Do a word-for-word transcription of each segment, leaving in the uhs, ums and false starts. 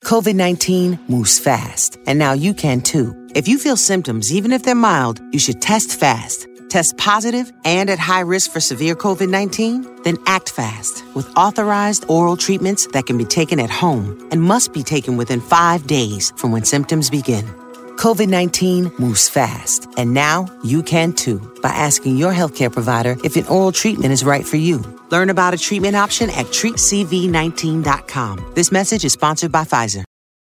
COVID nineteen moves fast, and now you can too. If you feel symptoms, even if they're mild, you should test fast. Test positive and at high risk for severe COVID nineteen? Then act fast with authorized oral treatments that can be taken at home and must be taken within five days from when symptoms begin. COVID nineteen moves fast, and now you can too by asking your healthcare provider if an oral treatment is right for you. Learn about a treatment option at treat c v nineteen dot com. This message is sponsored by Pfizer.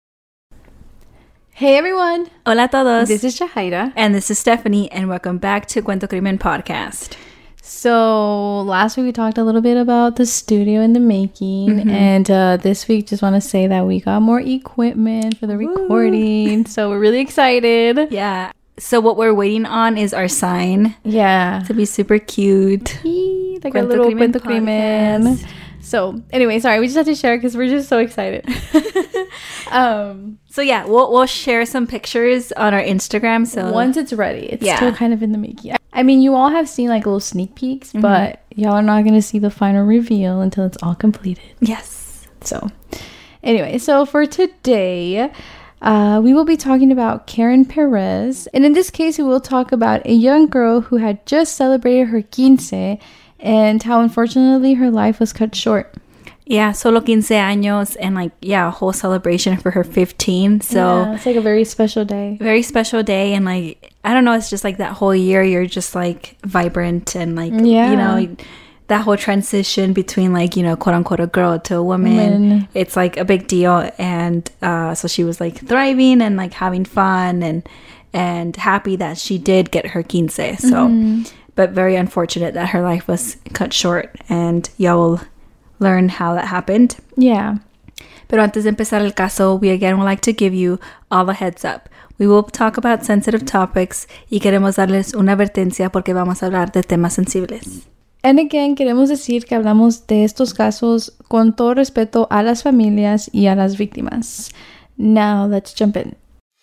Hey everyone! Hola a todos! This is Shahaira. And this is Stephanie, and welcome back to Cuento Crimen Podcast. So, last week we talked a little bit about the studio and the making, mm-hmm. and uh, this week just want to say that we got more equipment for the recording, so we're really excited. Yeah. So what we're waiting on is our sign. Yeah. To be super cute. Eee, like Cuento a little Crimen Cuento Crimen. So, anyway, sorry, we just had to share because we're just so excited. um, so, yeah, we'll we'll share some pictures on our Instagram. So once it's ready, it's yeah. still kind of in the making. I mean, you all have seen like little sneak peeks, mm-hmm. but y'all are not going to see the final reveal until it's all completed. Yes. So, anyway, so for today, uh, we will be talking about Karen Perez. And in this case, we will talk about a young girl who had just celebrated her quince and how unfortunately her life was cut short. Yeah, solo quince años and like, yeah, a whole celebration for her fifteen. So yeah, it's like a very special day. Very special day. And like, I don't know, it's just like that whole year you're just like vibrant and like, yeah. you know, that whole transition between like, you know, quote unquote a girl to a woman. woman. It's like a big deal. And uh, so she was like thriving and like having fun and and happy that she did get her quince. So, mm-hmm. but very unfortunate that her life was cut short. And y'all will learn how that happened. Yeah. Pero antes de empezar el caso, we again would like to give you all a heads up. We will talk about sensitive topics y queremos darles una advertencia porque vamos a hablar de temas sensibles. And again, queremos decir que hablamos de estos casos con todo respeto a las familias y a las víctimas. Now, let's jump in.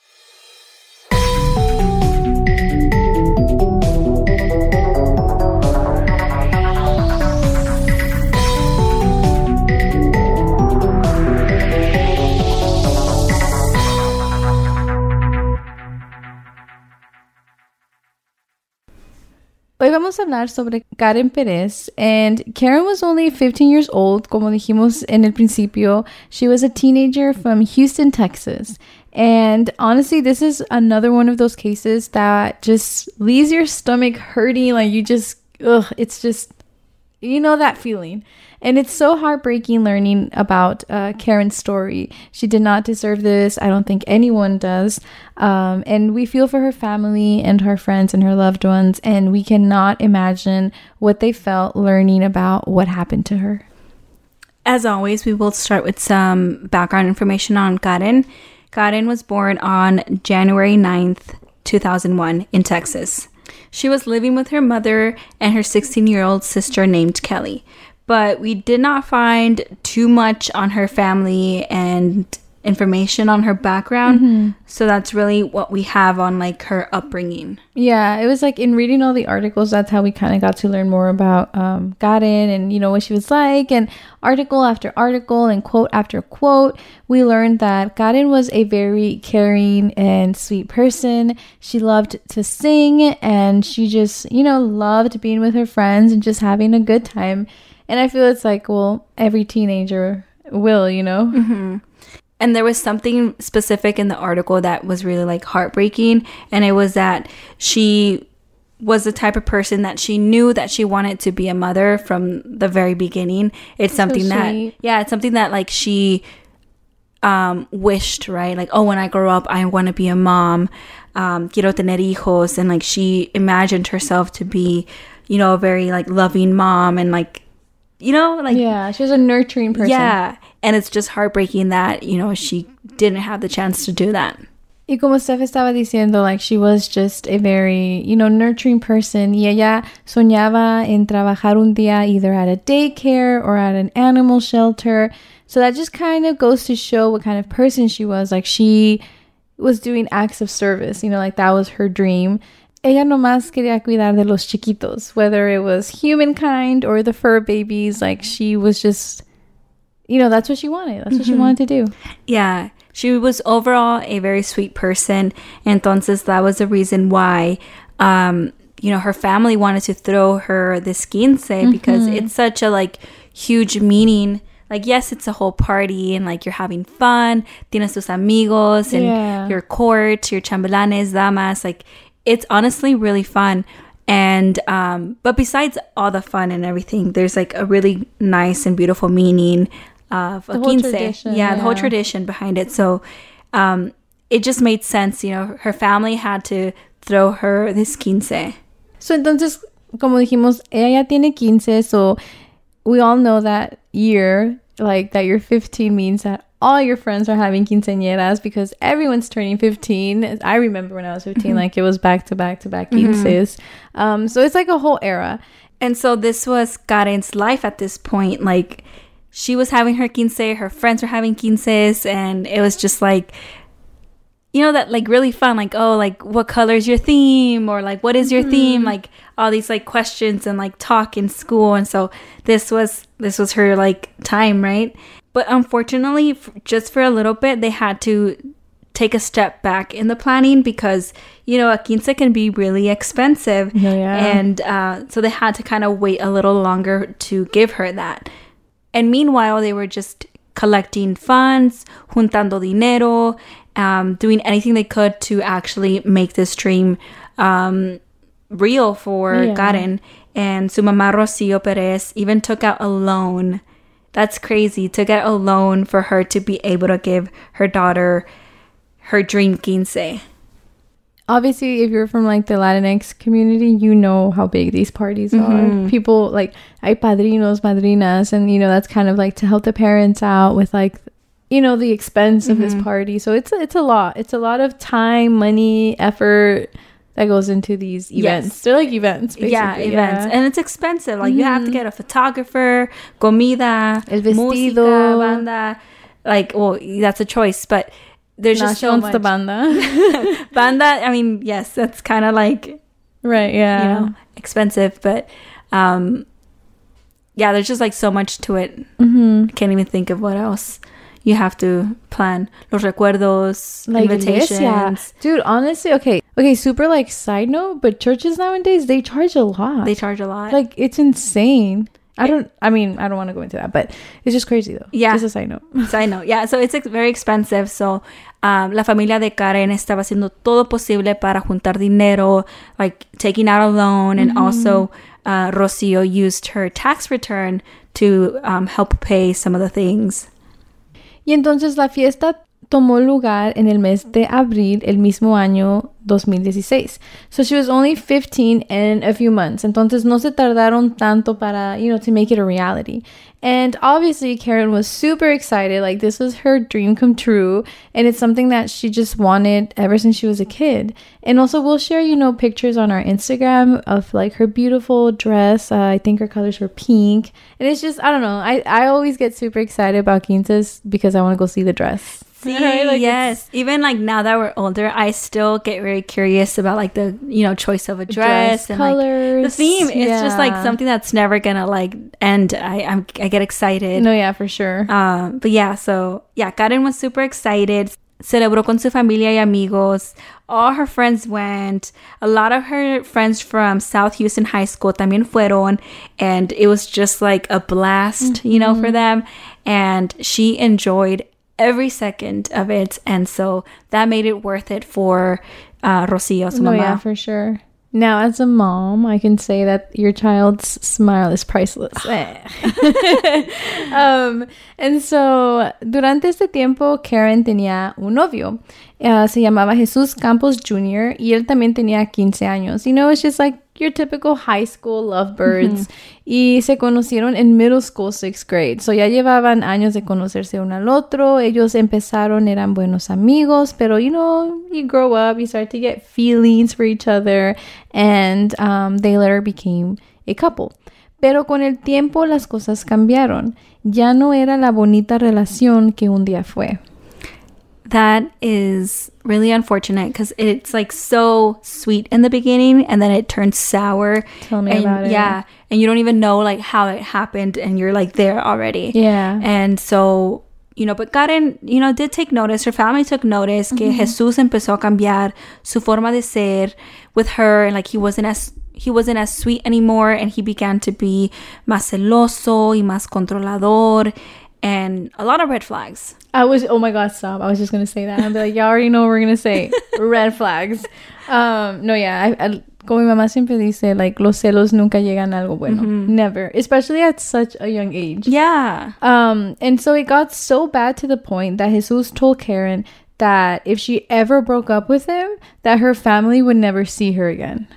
Hoy vamos a hablar sobre Karen Perez, and Karen was only fifteen years old, como dijimos en el principio. She was a teenager from Houston, Texas. And honestly, this is another one of those cases that just leaves your stomach hurting, like you just, ugh, it's just, you know that feeling. And it's so heartbreaking learning about uh, Karen's story. She did not deserve this. I don't think anyone does. Um, and we feel for her family and her friends and her loved ones. And we cannot imagine what they felt learning about what happened to her. As always, we will start with some background information on Karen. Karen was born on January ninth, two thousand one in Texas. She was living with her mother and her sixteen-year-old sister named Kelly. But we did not find too much on her family and information on her background. Mm-hmm. So that's really what we have on like her upbringing. Yeah, it was like in reading all the articles, that's how we kind of got to learn more about um, Karen and, you know, what she was like. And article after article and quote after quote, we learned that Karen was a very caring and sweet person. She loved to sing and she just, you know, loved being with her friends and just having a good time. And I feel it's like, well, every teenager will, you know? Mm-hmm. And there was something specific in the article that was really like heartbreaking. And it was that she was the type of person that she knew that she wanted to be a mother from the very beginning. It's something so that, yeah, it's something that like she um, wished, right? Like, oh, when I grow up, I want to be a mom. Um, quiero tener hijos. And like she imagined herself to be, you know, a very like loving mom and like, you know, like, yeah, she was a nurturing person. Yeah. And it's just heartbreaking that, you know, she didn't have the chance to do that. Y como Steph estaba diciendo, like, she was just a very, you know, nurturing person. Y ella soñaba en trabajar un día either at a daycare or at an animal shelter. So that just kind of goes to show what kind of person she was. Like, she was doing acts of service, you know, like that was her dream. Ella nomás quería cuidar de los chiquitos, whether it was humankind or the fur babies. Like, she was just, you know, that's what she wanted. That's what mm-hmm. she wanted to do. Yeah. she was overall a very sweet person. Entonces, that was the reason why, um, you know, her family wanted to throw her this quince mm-hmm. because it's such a, like, huge meaning. Like, yes, it's a whole party and, like, you're having fun. Tienes tus amigos and yeah. your court, your chambelanes, damas. Like, it's honestly really fun. And, um, but besides all the fun and everything, there's, like, a really nice and beautiful meaning of a quince. Yeah, yeah, the whole tradition behind it. So, um, it just made sense, you know, her family had to throw her this quince. So, entonces, como dijimos, ella ya tiene quince, so we all know that year, like that you're fifteen means that all your friends are having quinceañeras because everyone's turning fifteen. I remember when I was fifteen, mm-hmm. like it was back to back to back quinces. Mm-hmm. Um, so it's like a whole era. And so this was Karen's life at this point. Like she was having her quince, her friends were having quinces, and it was just like, you know, that like really fun, like, oh, like what color is your theme, or like what is your mm-hmm. theme, like all these like questions and like talk in school. And so this was this was her like time, right? But unfortunately, f- just for a little bit, they had to take a step back in the planning because, you know, a quince can be really expensive. Yeah, yeah. And uh, so they had to kind of wait a little longer to give her that. And meanwhile, they were just collecting funds, juntando dinero, um, doing anything they could to actually make this dream um, real for yeah. Karen. And su mamá Rocio Perez even took out a loan. That's crazy. Took out a loan for her to be able to give her daughter her dream quince. Obviously, if you're from like the Latinx community, you know how big these parties mm-hmm. are. People like, hay padrinos, madrinas, and you know that's kind of like to help the parents out with like, you know, the expense of mm-hmm. this party. So it's it's a lot. It's a lot of time, money, effort that goes into these events. Yes. They're like events, basically. Yeah, events. Yeah. And it's expensive. Like, mm-hmm. you have to get a photographer, comida, el vestido, música, banda. Like, well, that's a choice, but there's just so much. The banda. Banda, I mean, yes, that's kind of like... Right, yeah. You know, expensive, but... um yeah, there's just like so much to it. Mm-hmm. I can't even think of what else you have to plan. Los recuerdos, like invitations. Iglesia. Dude, honestly, okay. Okay, super like side note, but churches nowadays, they charge a lot. They charge a lot. Like, it's insane. I don't, I mean, I don't want to go into that, but it's just crazy though. Yeah. Just a side note. Side note. Yeah, so it's ex- very expensive. So, um, la familia de Karen estaba haciendo todo posible para juntar dinero, like taking out a loan, and mm-hmm. also uh, Rocio used her tax return to um, help pay some of the things. Y entonces la fiesta tomó lugar en el mes de abril el mismo año dos mil dieciséis. So she was only fifteen in a few months. Entonces no se tardaron tanto para, you know, to make it a reality. And obviously Karen was super excited. Like, this was her dream come true. And it's something that she just wanted ever since she was a kid. And also we'll share, you know, pictures on our Instagram of like her beautiful dress. Uh, I think her colors were pink. And it's just, I don't know. I, I always get super excited about quinces because I want to go see the dress. See, right? Like, yes. Even like now that we're older, I still get very curious about like the, you know, choice of a dress, dress and colors, like the theme. It's yeah. just like something that's never gonna like end. I I'm, I get excited. No, yeah, for sure. Um, but yeah, so yeah, Karen was super excited. Celebró con su familia y amigos. All her friends went. A lot of her friends from South Houston High School también fueron, and it was just like a blast, mm-hmm. you know, for them. And she enjoyed every second of it, and so that made it worth it for uh, Rocio, su no, mamá. Yeah, for sure. Now, as a mom, I can say that your child's smile is priceless. um, and so, durante este tiempo, Karen tenía un novio. Uh, se llamaba Jesús Campos Junior Y él también tenía quince años. You know, it's just like your typical high school lovebirds. Mm-hmm. Y se conocieron en middle school, sixth grade. So ya llevaban años de conocerse uno al otro. Ellos empezaron, eran buenos amigos. Pero, you know, you grow up, you start to get feelings for each other. And um, they later became a couple. Pero con el tiempo las cosas cambiaron. Ya no era la bonita relación que un día fue. That is really unfortunate because it's like so sweet in the beginning and then it turns sour. Tell me and, about it. Yeah. And you don't even know like how it happened and you're like there already. Yeah. And so you know, but Karen, you know, did take notice. Her family took notice que mm-hmm. Jesús empezó a cambiar su forma de ser with her, and like he wasn't as he wasn't as sweet anymore, and he began to be más celoso y más controlador, and a lot of red flags. I was, oh my God, stop. I was just going to say that. I'd be like, y'all already know what we're going to say. Red flags. Um, no, yeah. I, I, como mi mamá siempre dice, like, los celos nunca llegan a algo bueno. Mm-hmm. Never. Especially at such a young age. Yeah. Um, and so it got so bad to the point that Jesus told Karen that if she ever broke up with him, that her family would never see her again.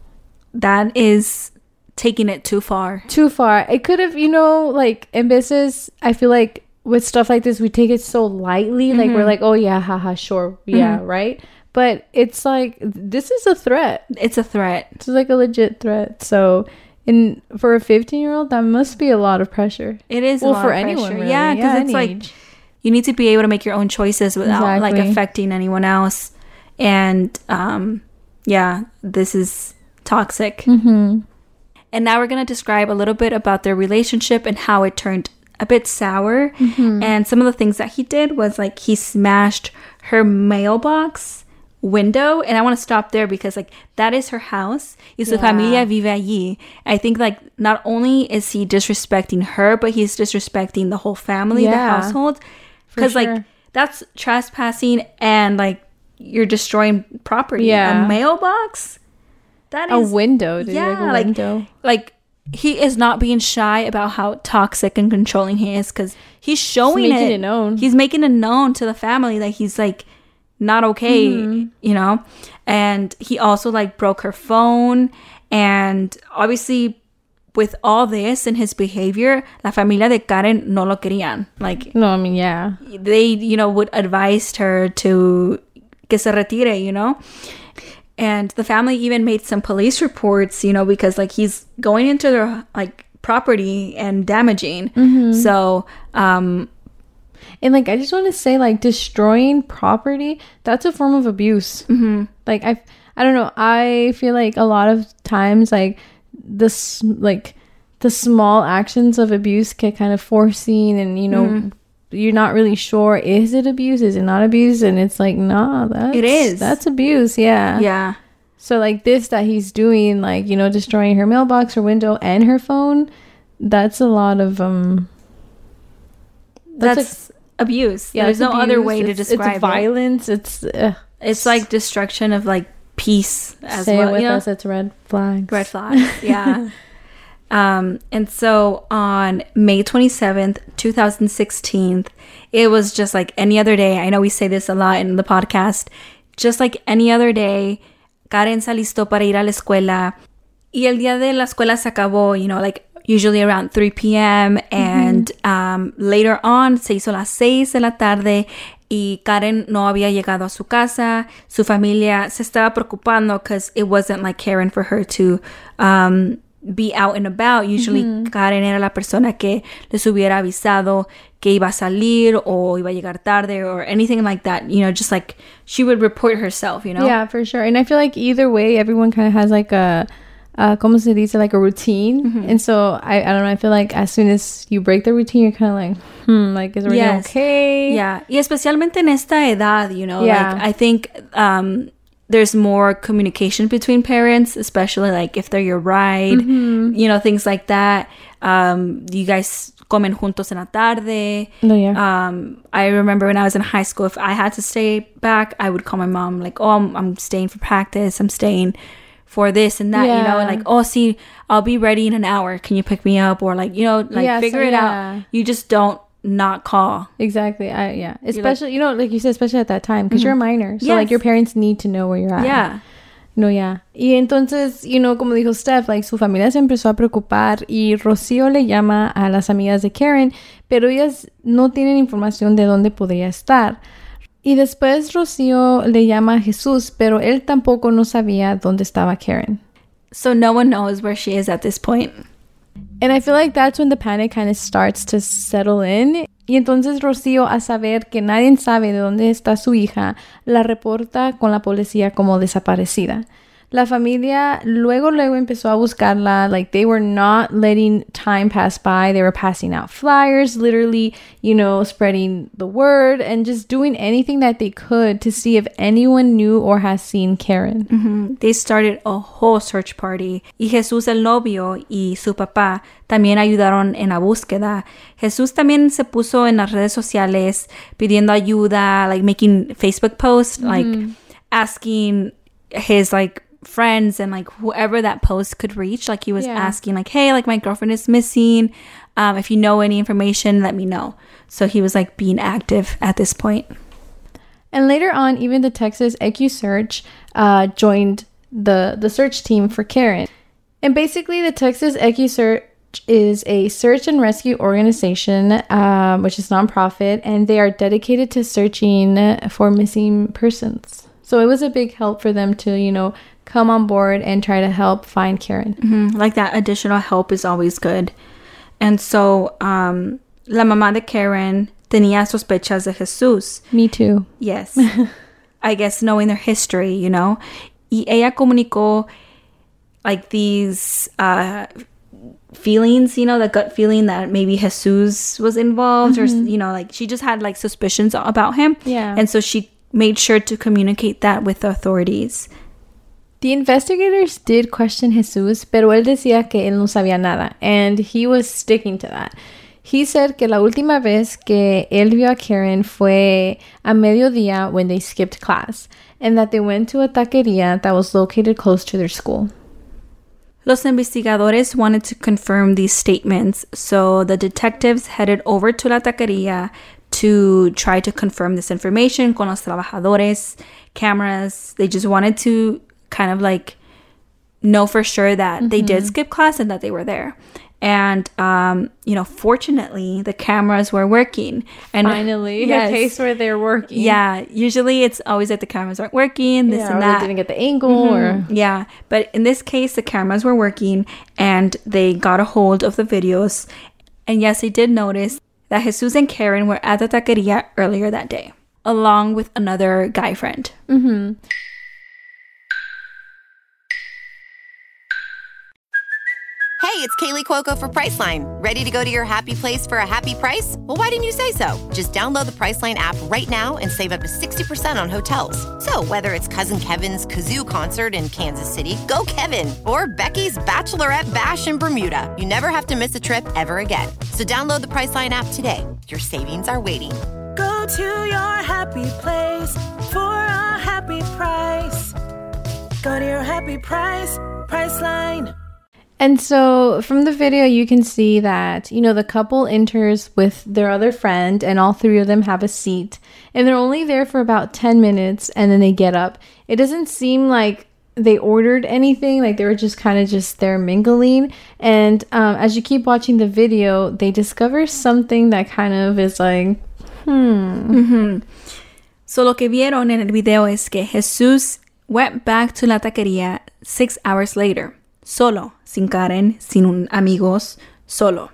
That is taking it too far. Too far. It could have, you know, like, in business, I feel like with stuff like this, we take it so lightly. Mm-hmm. Like, we're like, oh, yeah, haha, sure. Yeah, mm-hmm. right? But it's like, this is a threat. It's a threat. It's like a legit threat. So, in for a fifteen-year-old, that must be a lot of pressure. It is well, a lot for of anyone, pressure. Really. Yeah, because yeah, it's like, age. You need to be able to make your own choices without, exactly. like, affecting anyone else. And, um, yeah, this is toxic. Mm-hmm. And now we're going to describe a little bit about their relationship and how it turned a bit sour. Mm-hmm. And some of the things that he did was like he smashed her mailbox window. And I want to stop there because like that is her house. Y su yeah. familia vive allí. I think like not only is he disrespecting her, but he's disrespecting the whole family, yeah, the household. Because sure. like that's trespassing and like you're destroying property. Yeah. A mailbox? That is a window, dude. Yeah, like, a like, window. like he is not being shy about how toxic and controlling he is because he's showing he's making it. it known. He's making it known to the family that he's like not okay, mm-hmm. you know. And he also like broke her phone, and obviously with all this and his behavior, la familia de Karen no lo querían. Like no, I mean yeah, they you know would advise her to que se retire, you know. And the family even made some police reports, you know, because like he's going into their like property and damaging. Mm-hmm. So, um, and like I just want to say, like destroying property, that's a form of abuse. Mm-hmm. Like I, I don't know. I feel like a lot of times, like this, like the small actions of abuse get kind of forcing, and you know. Mm-hmm. You're not really sure, is it abuse, is it not abuse, and it's like nah, that's it is that's abuse. Yeah, yeah. So like this that he's doing, like, you know, destroying her mailbox, her window, and her phone, that's a lot of um that's, that's a, abuse. Yeah, there's no abuse. Other way to it's, describe it's violence. it. It's uh, it's like destruction of like peace as say well. It with you know? us, it's red flags. Red flags. Yeah. Um, and so on May twenty-seventh, twenty sixteen, it was just like any other day. I know we say this a lot in the podcast. Just like any other day, Karen se alistó para ir a la escuela. Y el día de la escuela se acabó, you know, like usually around three p.m. And mm-hmm. um, later on, se hizo las seis de la tarde. Y Karen no había llegado a su casa. Su familia se estaba preocupando because it wasn't like Karen for her to... Um, be out and about. Usually mm-hmm. Karen era la persona que les hubiera avisado que iba a salir o iba a llegar tarde or anything like that, you know, just like she would report herself, you know. Yeah, for sure. And I feel like either way everyone kind of has like a uh como se dice, like a routine. Mm-hmm. And so I, I don't know, I feel like as soon as you break the routine you're kind of like hmm like is everything yes. okay? Yeah. Y especialmente en esta edad, you know, yeah. like I think um there's more communication between parents, especially like if they're your ride, mm-hmm. you know, things like that. Um, you guys comen juntos en la tarde. No, yeah. Um, I remember when I was in high school, if I had to stay back, I would call my mom like, oh, I'm, I'm staying for practice. I'm staying for this and that, yeah. you know, and like, oh, see, I'll be ready in an hour. Can you pick me up? Or like, you know, like yeah, figure so, it yeah. out. You just don't not call. Exactly. I yeah. Especially, like, you know, like you said, especially at that time, because mm-hmm. you're a minor. So yes. like your parents need to know where you're at. Yeah. No, yeah. Y entonces, you know, como dijo Steph, like su familia se empezó a preocupar y Rocío le llama a las amigas de Karen, pero ellas no tienen información de dónde podría estar. Y después Rocío le llama a Jesús, pero él tampoco no sabía dónde estaba Karen. So no one knows where she is at this point. And I feel like that's when the panic kind of starts to settle in. Y entonces Rocío, a saber que nadie sabe de dónde está su hija, la reporta con la policía como desaparecida. La familia luego, luego empezó a buscarla. Like, they were not letting time pass by. They were passing out flyers, literally, you know, spreading the word and just doing anything that they could to see if anyone knew or has seen Karen. Mm-hmm. They started a whole search party. Y Jesús, el novio, y su papá también ayudaron en la búsqueda. Jesús también se puso en las redes sociales pidiendo ayuda, like making Facebook posts, mm-hmm. like asking his, like, friends and like whoever that post could reach, like he was yeah. asking like, hey, like my girlfriend is missing, um if you know any information, let me know. So he was like being active at this point. And later on, even the Texas EquuSearch uh joined the the search team for Karen. And basically the Texas EquuSearch is a search and rescue organization, um, which is nonprofit, and they are dedicated to searching for missing persons. So it was a big help for them to, you know, come on board and try to help find Karen. Mm-hmm. Like, that additional help is always good. And so, um, la mamá de Karen tenía sospechas de Jesús. Me too. Yes. I guess knowing their history, you know. Y ella comunicó, like, these uh, feelings, you know, the gut feeling that maybe Jesús was involved, mm-hmm. or, you know, like, she just had, like, suspicions about him. Yeah. And so she made sure to communicate that with the authorities. The investigators did question Jesus, pero él decía que él no sabía nada, and he was sticking to that. He said que la última vez que él vio a Karen fue a mediodía when they skipped class, and that they went to a taqueria that was located close to their school. Los investigadores wanted to confirm these statements, so the detectives headed over to la taqueria to try to confirm this information con los trabajadores, cameras. They just wanted to kind of like know for sure that mm-hmm. they did skip class and that they were there. And, um, you know, fortunately, the cameras were working. And finally, yes. a case where they're working. Yeah, usually it's always like the cameras aren't working, this yeah, and or that. They didn't get the angle. Mm-hmm. or Yeah, but in this case, the cameras were working and they got a hold of the videos. And yes, they did notice that Jesus and Karen were at the taqueria earlier that day, along with another guy friend. Mm-hmm. Hey, it's Kaylee Cuoco for Priceline. Ready to go to your happy place for a happy price? Well, why didn't you say so? Just download the Priceline app right now and save up to sixty percent on hotels. So whether it's Cousin Kevin's Kazoo Concert in Kansas City, go Kevin, or Becky's Bachelorette Bash in Bermuda, you never have to miss a trip ever again. So download the Priceline app today. Your savings are waiting. Go to your happy place for a happy price. Go to your happy price, Priceline. And so from the video, you can see that, you know, the couple enters with their other friend and all three of them have a seat. And they're only there for about ten minutes and then they get up. It doesn't seem like they ordered anything. Like, they were just kind of just there mingling. And um, as you keep watching the video, they discover something that kind of is like, hmm. Mm-hmm. So lo que vieron en el video es que Jesús went back to la taqueria six hours later. Solo, sin Karen, sin un amigos, solo.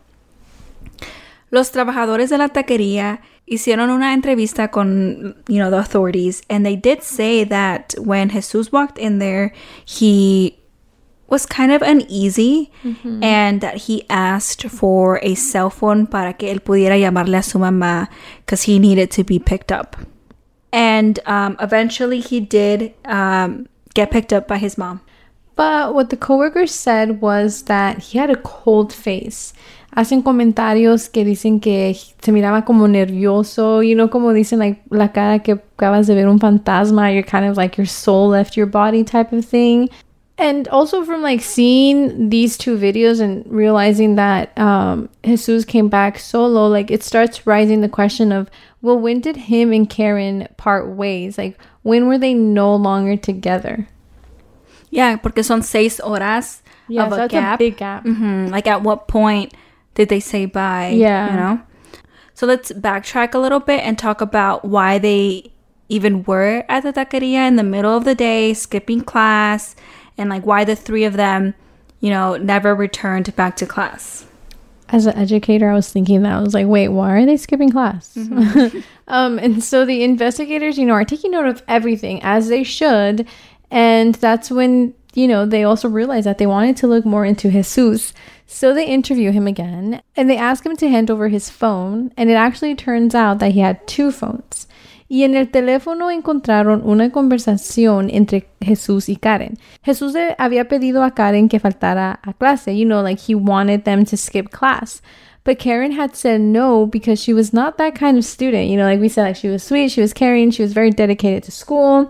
Los trabajadores de la taquería hicieron una entrevista con, you know, the authorities, and they did say that when Jesus walked in there, he was kind of uneasy, mm-hmm. and that he asked for a cell phone para que él pudiera llamarle a su mamá because he needed to be picked up. And um, eventually he did um, get picked up by his mom. But what the coworkers said was that he had a cold face. Hacen comentarios que dicen que se miraba como nervioso, you know, como dicen, like, la cara que acabas de ver un fantasma, you're kind of like your soul left your body type of thing. And also from, like, seeing these two videos and realizing that um, Jesus came back solo, like, it starts rising the question of, well, when did him and Karen part ways? Like, when were they no longer together? Yeah, porque son seis horas yeah, of so a that's gap. a big gap. Mm-hmm. Like, at what point did they say bye? Yeah. You know? So let's backtrack a little bit and talk about why they even were at the taqueria in the middle of the day, skipping class, and, like, why the three of them, you know, never returned back to class. As an educator, I was thinking that. I was like, wait, why are they skipping class? Mm-hmm. um, and so the investigators, you know, are taking note of everything, as they should. And that's when you know, they also realized that they wanted to look more into Jesus. So they interview him again and they ask him to hand over his phone. And it actually turns out that he had two phones. Y en el teléfono encontraron una conversación entre Jesús y Karen. Jesús le había pedido a Karen que faltara a clase. You know, like he wanted them to skip class. But Karen had said no because she was not that kind of student. You know, like we said, like she was sweet, she was caring, she was very dedicated to school.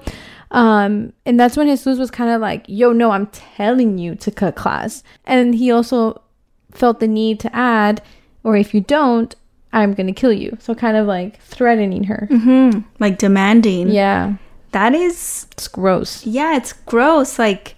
Um, and that's when Jesus was kind of like, yo, no, I'm telling you to cut class. And he also felt the need to add, or if you don't, I'm going to kill you. So kind of like threatening her. Mm-hmm. Like demanding. Yeah. That is... It's gross. Yeah, it's gross. Like,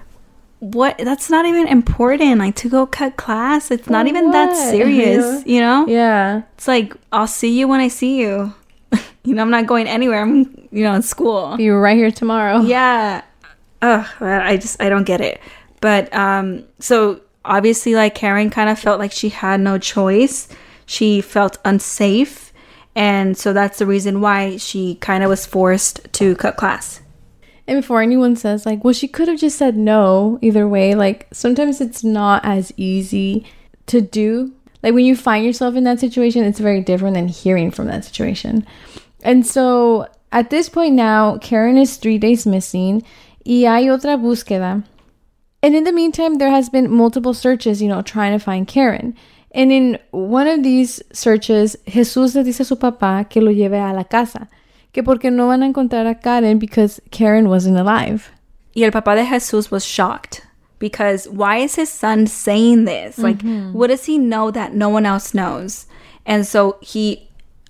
what? That's not even important. Like, to go cut class. It's not For even what? that serious, you know? Yeah. It's like, I'll see you when I see you. You know, I'm not going anywhere. I'm, you know, in school. You were right here tomorrow. Yeah. Ugh, I just, I don't get it. But, um, so obviously, like, Karen kind of felt like she had no choice. She felt unsafe. And so that's the reason why she kind of was forced to cut class. And before anyone says, like, well, she could have just said no either way. Like, sometimes it's not as easy to do. Like, when you find yourself in that situation, it's very different than hearing from that situation. And so, at this point now, Karen is three days missing. Y hay otra búsqueda. And in the meantime, there has been multiple searches, you know, trying to find Karen. And in one of these searches, Jesús le dice a su papá que lo lleve a la casa. Que porque no van a encontrar a Karen because Karen wasn't alive. Y el papá de Jesús was shocked. Because why is his son saying this? Like, mm-hmm. What does he know that no one else knows? And so he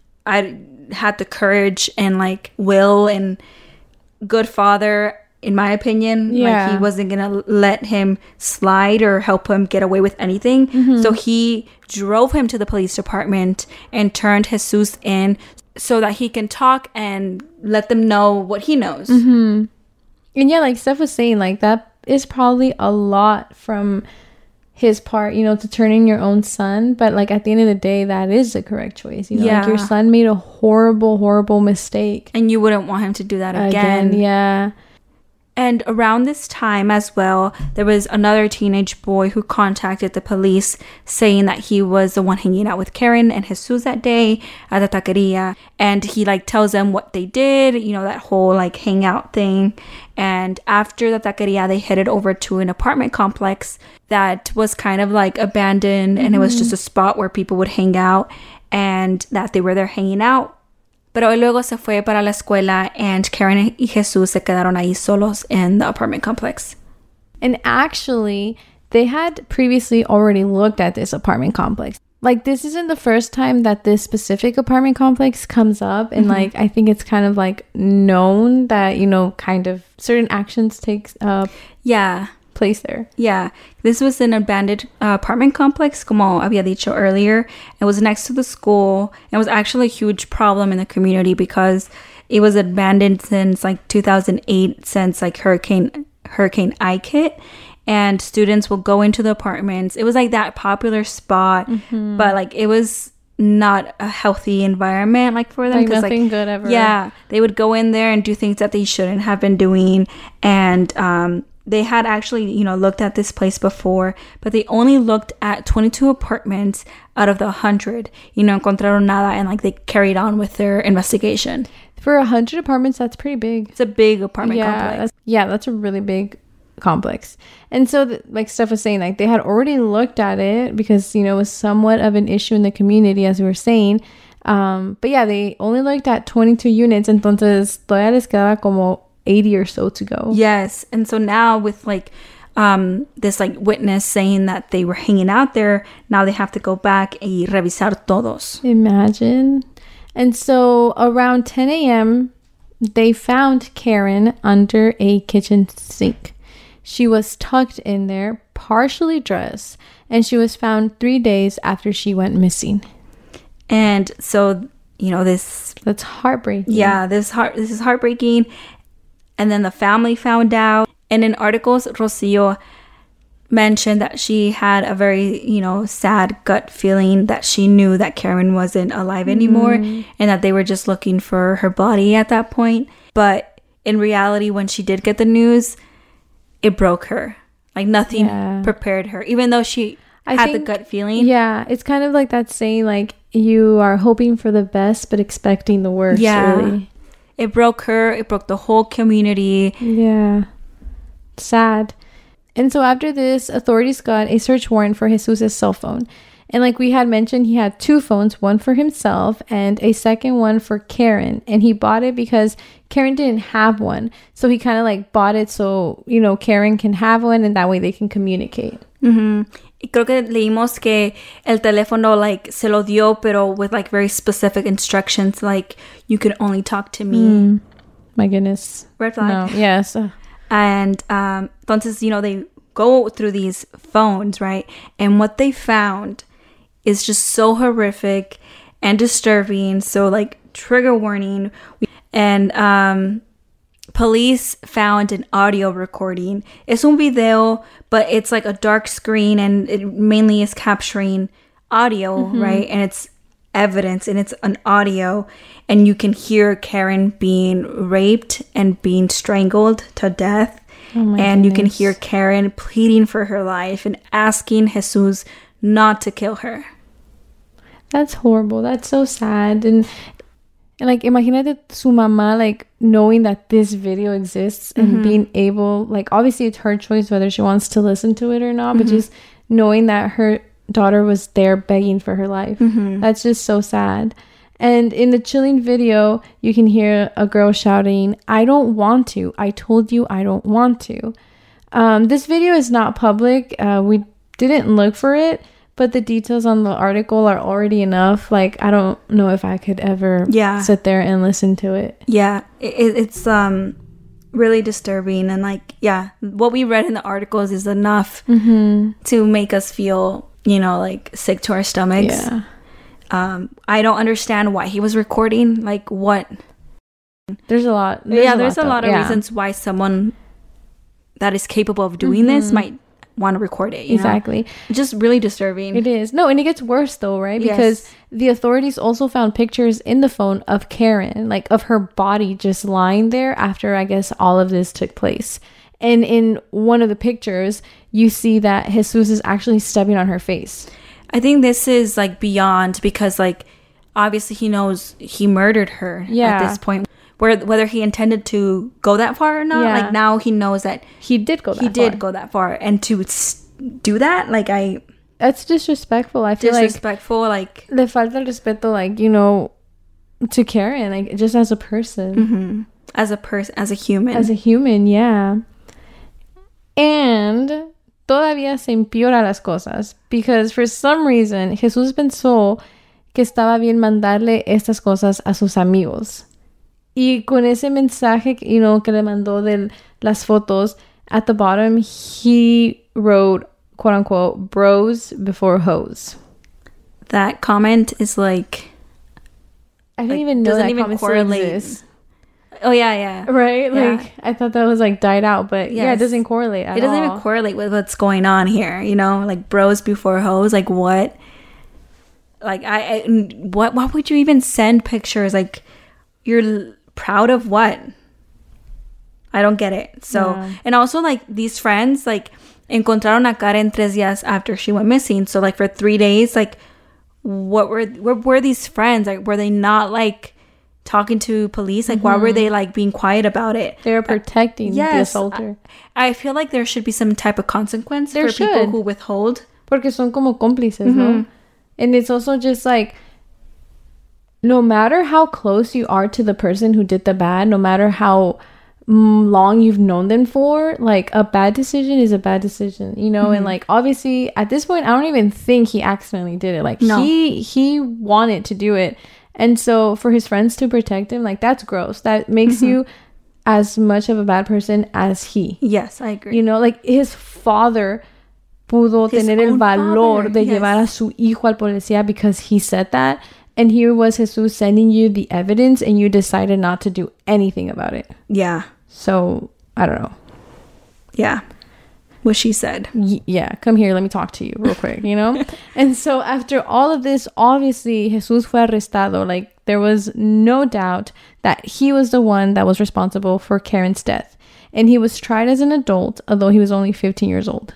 I had the courage and, like, will and good father, in my opinion. Yeah. Like, he wasn't going to let him slide or help him get away with anything. Mm-hmm. So he drove him to the police department and turned Jesus in so that he can talk and let them know what he knows. Mm-hmm. And yeah, like Steph was saying, like, that is probably a lot from his part, you know, to turn in your own son. But, like, at the end of the day, that is the correct choice. You know, yeah. Like, your son made a horrible, horrible mistake. And you wouldn't want him to do that again. Again, yeah. And around this time as well, there was another teenage boy who contacted the police saying that he was the one hanging out with Karen and Jesus that day at the taqueria. And he, like, tells them what they did, you know, that whole, like, hangout thing. And after the taqueria, they headed over to an apartment complex that was kind of, like, abandoned. Mm-hmm. And it was just a spot where people would hang out, and that they were there hanging out. Pero luego se fue para la escuela, and Karen y Jesus se quedaron ahí solos in the apartment complex. And actually, they had previously already looked at this apartment complex. Like, this isn't the first time that this specific apartment complex comes up. And, mm-hmm. like, I think it's kind of, like, known that, you know, kind of certain actions take uh, yeah. place there. Yeah. This was an abandoned uh, apartment complex, como había dicho earlier. It was next to the school. It was actually a huge problem in the community because it was abandoned since, like, two thousand eight, since, like, Hurricane Hurricane Ike hit. And students will go into the apartments. It was, like, that popular spot. Mm-hmm. But, like, it was not a healthy environment, like, for them. Like, nothing like, good ever. Yeah. They would go in there and do things that they shouldn't have been doing. And um, they had actually, you know, looked at this place before. But they only looked at twenty-two apartments out of the one hundred. You know, encontraron nada. And, like, they carried on with their investigation. For one hundred apartments, that's pretty big. It's a big apartment yeah, complex. That's, yeah, that's a really big complex. And so, th- like Steph was saying, like, they had already looked at it because, you know, it was somewhat of an issue in the community, as we were saying. Um, but yeah, they only looked at twenty-two units. Entonces, todavía les quedaba como eighty or so to go. Yes. And so now with, like, um, this, like, witness saying that they were hanging out there, now they have to go back y revisar todos. Imagine. And so around ten a.m., they found Karen under a kitchen sink. She was tucked in there, partially dressed, and she was found three days after she went missing. And so, you know, this... That's heartbreaking. Yeah, this heart this is heartbreaking. And then the family found out. And in articles, Rocio mentioned that she had a very, you know, sad gut feeling that she knew that Karen wasn't alive anymore, mm. and that they were just looking for her body at that point. But in reality, when she did get the news, it broke her. Like nothing Yeah. prepared her, even though she I had think- the gut feeling. Yeah, it's kind of like that saying, like, you are hoping for the best but expecting the worst. Yeah. Really. It broke her. It broke the whole community. Yeah. Sad. And so after this, authorities got a search warrant for Jesus' cell phone. And like we had mentioned, he had two phones, one for himself and a second one for Karen. And he bought it because Karen didn't have one. So he kind of like bought it so, you know, Karen can have one and that way they can communicate. Mm-hmm. Y creo que leímos que el teléfono, like, se lo dio, pero with, like, very specific instructions, like, you can only talk to me. Mm. My goodness. Red flag. No. Yes. Ugh. And, um, entonces, you know, they go through these phones, right? And what they found is just so horrific and disturbing. So, like, trigger warning. And, um... police found an audio recording. Es un video, but it's like a dark screen and it mainly is capturing audio, mm-hmm. right? And it's evidence and it's an audio. And you can hear Karen being raped and being strangled to death. Oh my and goodness. You can hear Karen pleading for her life and asking Jesus not to kill her. That's horrible. That's so sad. And And like, imagínate su mamá, like, knowing that this video exists and mm-hmm. being able, like, obviously it's her choice whether she wants to listen to it or not, mm-hmm. but just knowing that her daughter was there begging for her life. Mm-hmm. That's just so sad. And in the chilling video, you can hear a girl shouting, "I don't want to. I told you I don't want to." Um, this video is not public. Uh, we didn't look for it. But the details on the article are already enough. Like, I don't know if I could ever yeah. sit there and listen to it. Yeah, it, it's um really disturbing. And, like, yeah, what we read in the articles is enough mm-hmm. to make us feel, you know, like, sick to our stomachs. Yeah. Um, I don't understand why he was recording. Like, what? There's a lot. There's yeah, a there's lot, a lot of yeah. reasons why someone that is capable of doing mm-hmm. this might want to record it. You exactly. know? Just really disturbing. It is. No, and it gets worse though, right? Because yes. the authorities also found pictures in the phone of Karen, like of her body just lying there after, I guess, all of this took place. And in one of the pictures, you see that Jesus is actually stepping on her face. I think this is like beyond, because like obviously he knows he murdered her yeah. at this point. Where, whether he intended to go that far or not, yeah. like now he knows that he did go that he far. did go that far, and to s- do that, like I, that's disrespectful. I feel disrespectful, like, like le falta el respeto, like, you know, to Karen, like just as a person, mm-hmm. as a person, as a human, as a human, yeah. And todavía se empeora las cosas because for some reason Jesús pensó que estaba bien mandarle estas cosas a sus amigos. Y con ese mensaje, you know, que le mandó de las fotos, at the bottom, he wrote, quote unquote, bros before hoes. That comment is like... I didn't like, even know doesn't that even comment correlate. still exists. Oh, yeah, yeah. Right? Yeah. Like, I thought that was, like, died out, but yes. yeah, it doesn't correlate at all. It doesn't all. even correlate with what's going on here, you know? Like, bros before hoes, like, what? Like, I... I what? Why would you even send pictures? Like, you're... proud of what? I don't get it. So, yeah. And also, like, these friends, like, encontraron a Karen tres días after she went missing. So, like, for three days, like, what were, what were these friends? Like, were they not, like, talking to police? Like, mm-hmm. why were they, like, being quiet about it? They were protecting uh, yes, the assaulter. I, I feel like there should be some type of consequence there for should. people who withhold. Porque son como cómplices, mm-hmm. no? And it's also just, like, no matter how close you are to the person who did the bad, no matter how mm, long you've known them for, like, a bad decision is a bad decision, you know? Mm-hmm. And, like, obviously, at this point, I don't even think he accidentally did it. Like, no. he he wanted to do it. And so, for his friends to protect him, like, that's gross. That makes mm-hmm. you as much of a bad person as he. Yes, I agree. You know, like, his father pudo his tener el valor father, de yes. llevar a su hijo al policía because he said that. And here was Jesus sending you the evidence and you decided not to do anything about it. Yeah. So, I don't know. Yeah. What she said. Y- yeah. Come here. Let me talk to you real quick, you know? And so after all of this, obviously, Jesus fue arrestado. Like, there was no doubt that he was the one that was responsible for Karen's death. and he was tried as an adult, although he was only fifteen years old.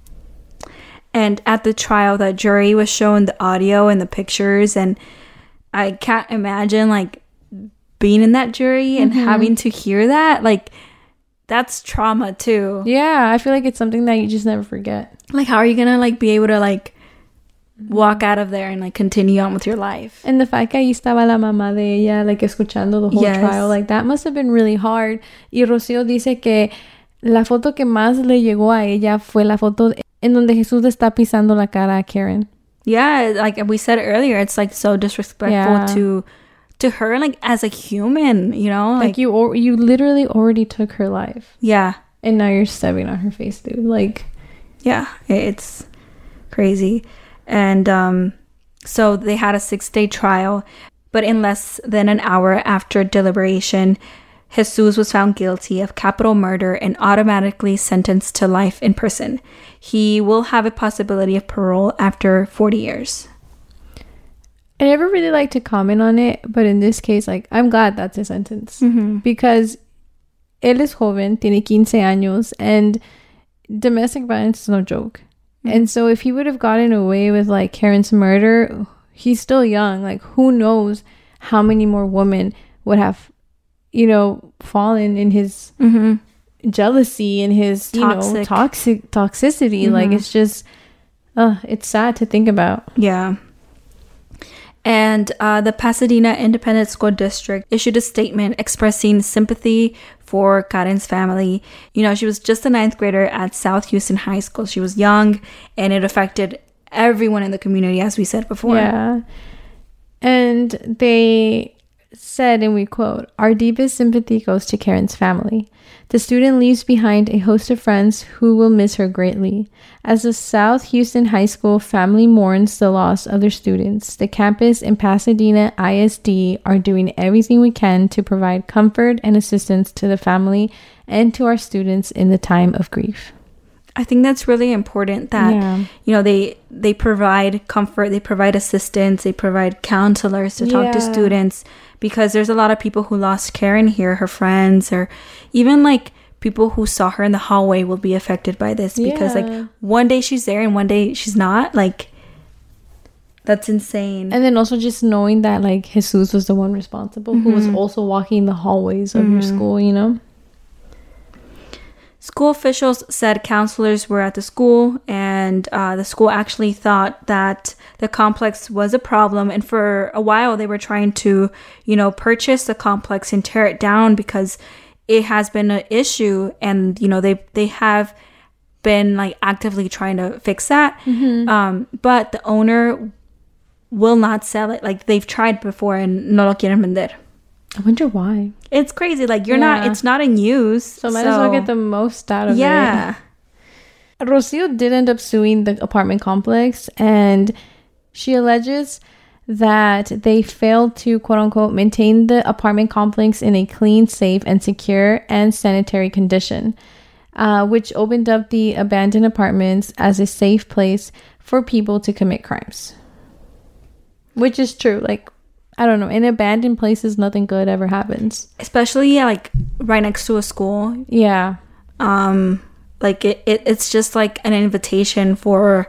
And at the trial, the jury was shown the audio and the pictures, and I can't imagine like being in that jury and mm-hmm. having to hear that. Like, that's trauma too. Yeah, I feel like it's something that you just never forget. Like, how are you gonna like be able to like walk out of there and like continue on with your life? And the fact que ahí estaba la mamá de ella, like escuchando the whole yes. trial, like that must have been really hard. Y Rocío dice que la foto que más le llegó a ella fue la foto en donde Jesús está pisando la cara a Karen. Yeah, like we said earlier, it's like so disrespectful yeah. to to her, like as a human, you know, like, like you or you literally already took her life. Yeah, and now you're stepping on her face, dude. Like, yeah, it's crazy. And um, so they had a six-day trial, but in less than an hour after deliberation, Jesus was found guilty of capital murder and automatically sentenced to life in prison. He will have a possibility of parole after forty years. I never really like to comment on it, but in this case, like, I'm glad that's a sentence. Mm-hmm. Because él es joven, tiene quince años, and domestic violence is no joke. Mm-hmm. And so if he would have gotten away with, like, Karen's murder, he's still young. Like, who knows how many more women would have, you know, fallen in his mm-hmm. jealousy and his, you Toxic. know, toxic toxicity. Mm-hmm. Like, it's just, uh, it's sad to think about. Yeah. And uh, the Pasadena Independent School District issued a statement expressing sympathy for Karen's family. You know, she was just a ninth grader at South Houston High School. She was young, and it affected everyone in the community, as we said before. Yeah. And they said, and we quote, "Our deepest sympathy goes to Karen's family. The student leaves behind a host of friends who will miss her greatly. As the South Houston High School family mourns the loss of their students, the campus and Pasadena I S D are doing everything we can to provide comfort and assistance to the family and to our students in the time of grief." I think that's really important that, yeah. you know, they they provide comfort, they provide assistance, they provide counselors to talk yeah. to students, because there's a lot of people who lost Karen here, her friends, or even like people who saw her in the hallway will be affected by this because yeah. like one day she's there and one day she's not. Like, that's insane. And then also just knowing that like Jesus was the one responsible mm-hmm. who was also walking the hallways of mm-hmm. your school, you know? School officials said counselors were at the school, and uh, the school actually thought that the complex was a problem. And for a while, they were trying to, you know, purchase the complex and tear it down because it has been an issue. And, you know, they they have been like actively trying to fix that. Mm-hmm. Um, but the owner will not sell it. Like, they've tried before and no lo quieren vender. I wonder why. It's crazy. Like, you're yeah. not, it's not in use. So might so. as well get the most out of yeah. it. Yeah. Rocío did end up suing the apartment complex, and she alleges that they failed to, quote unquote, maintain the apartment complex in a clean, safe, and secure and sanitary condition, uh, which opened up the abandoned apartments as a safe place for people to commit crimes. Which is true. Like, I don't know. In abandoned places, nothing good ever happens. Especially, yeah, like, right next to a school. Yeah. Um, like, it, it it's just, like, an invitation for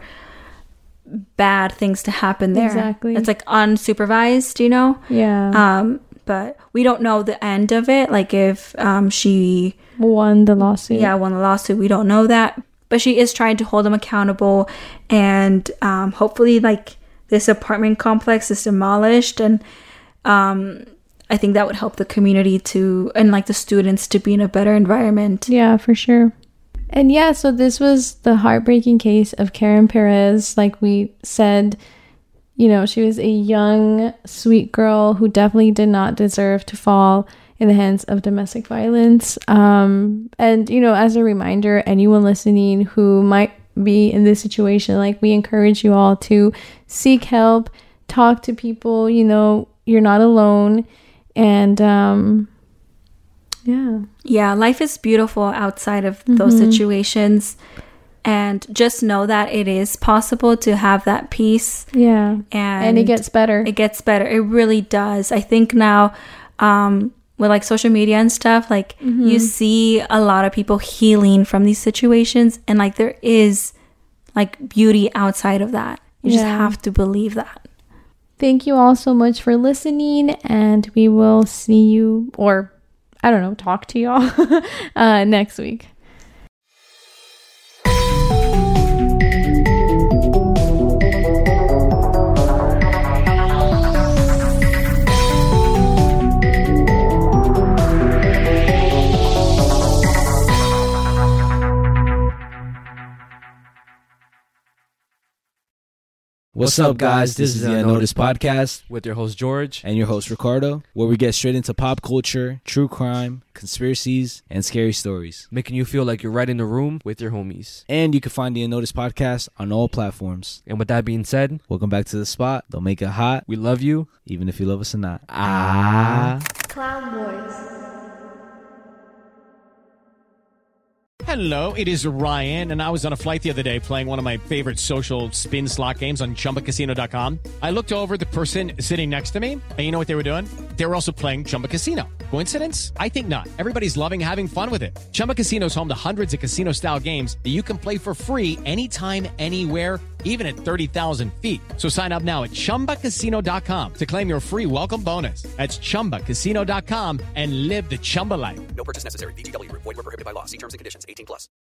bad things to happen there. Exactly. It's, like, unsupervised, you know? Yeah. Um, but we don't know the end of it. Like, if um she... Won the lawsuit. Yeah, won the lawsuit. We don't know that. But she is trying to hold them accountable. And um, hopefully, like... this apartment complex is demolished, and um, I think that would help the community to, and like the students to be in a better environment. Yeah, for sure. And yeah, so this was the heartbreaking case of Karen Perez. Like we said, you know, she was a young, sweet girl who definitely did not deserve to fall in the hands of domestic violence. Um, and, you know, as a reminder, anyone listening who might be in this situation, like, we encourage you all to seek help, talk to people, you know, you're not alone. And um yeah yeah life is beautiful outside of mm-hmm. those situations, and just know that it is possible to have that peace. Yeah. And, and it gets better it gets better it really does. I think now um with like social media and stuff, like mm-hmm. you see a lot of people healing from these situations, and like there is like beauty outside of that. You yeah. just have to believe that. Thank you all so much for listening, and we will see you, or I don't know, talk to y'all uh, next week. What's up, guys? This is the Unnoticed Podcast with your host, George. And your host, Ricardo, where we get straight into pop culture, true crime, conspiracies, and scary stories. Making you feel like you're right in the room with your homies. And you can find the Unnoticed Podcast on all platforms. And with that being said, welcome back to the spot. Don't make it hot. We love you, even if you love us or not. Ah. Clown Boys. Hello, it is Ryan, and I was on a flight the other day playing one of my favorite social spin slot games on Chumba Casino dot com. I looked over at the person sitting next to me, and you know what they were doing? They were also playing Chumba Casino. Coincidence? I think not. Everybody's loving having fun with it. Chumba Casino is home to hundreds of casino-style games that you can play for free anytime, anywhere, even at thirty thousand feet. So sign up now at Chumba Casino dot com to claim your free welcome bonus. That's Chumba Casino dot com and live the Chumba life. No purchase necessary. V G W. Void where prohibited by law. See terms and conditions. eighteen plus.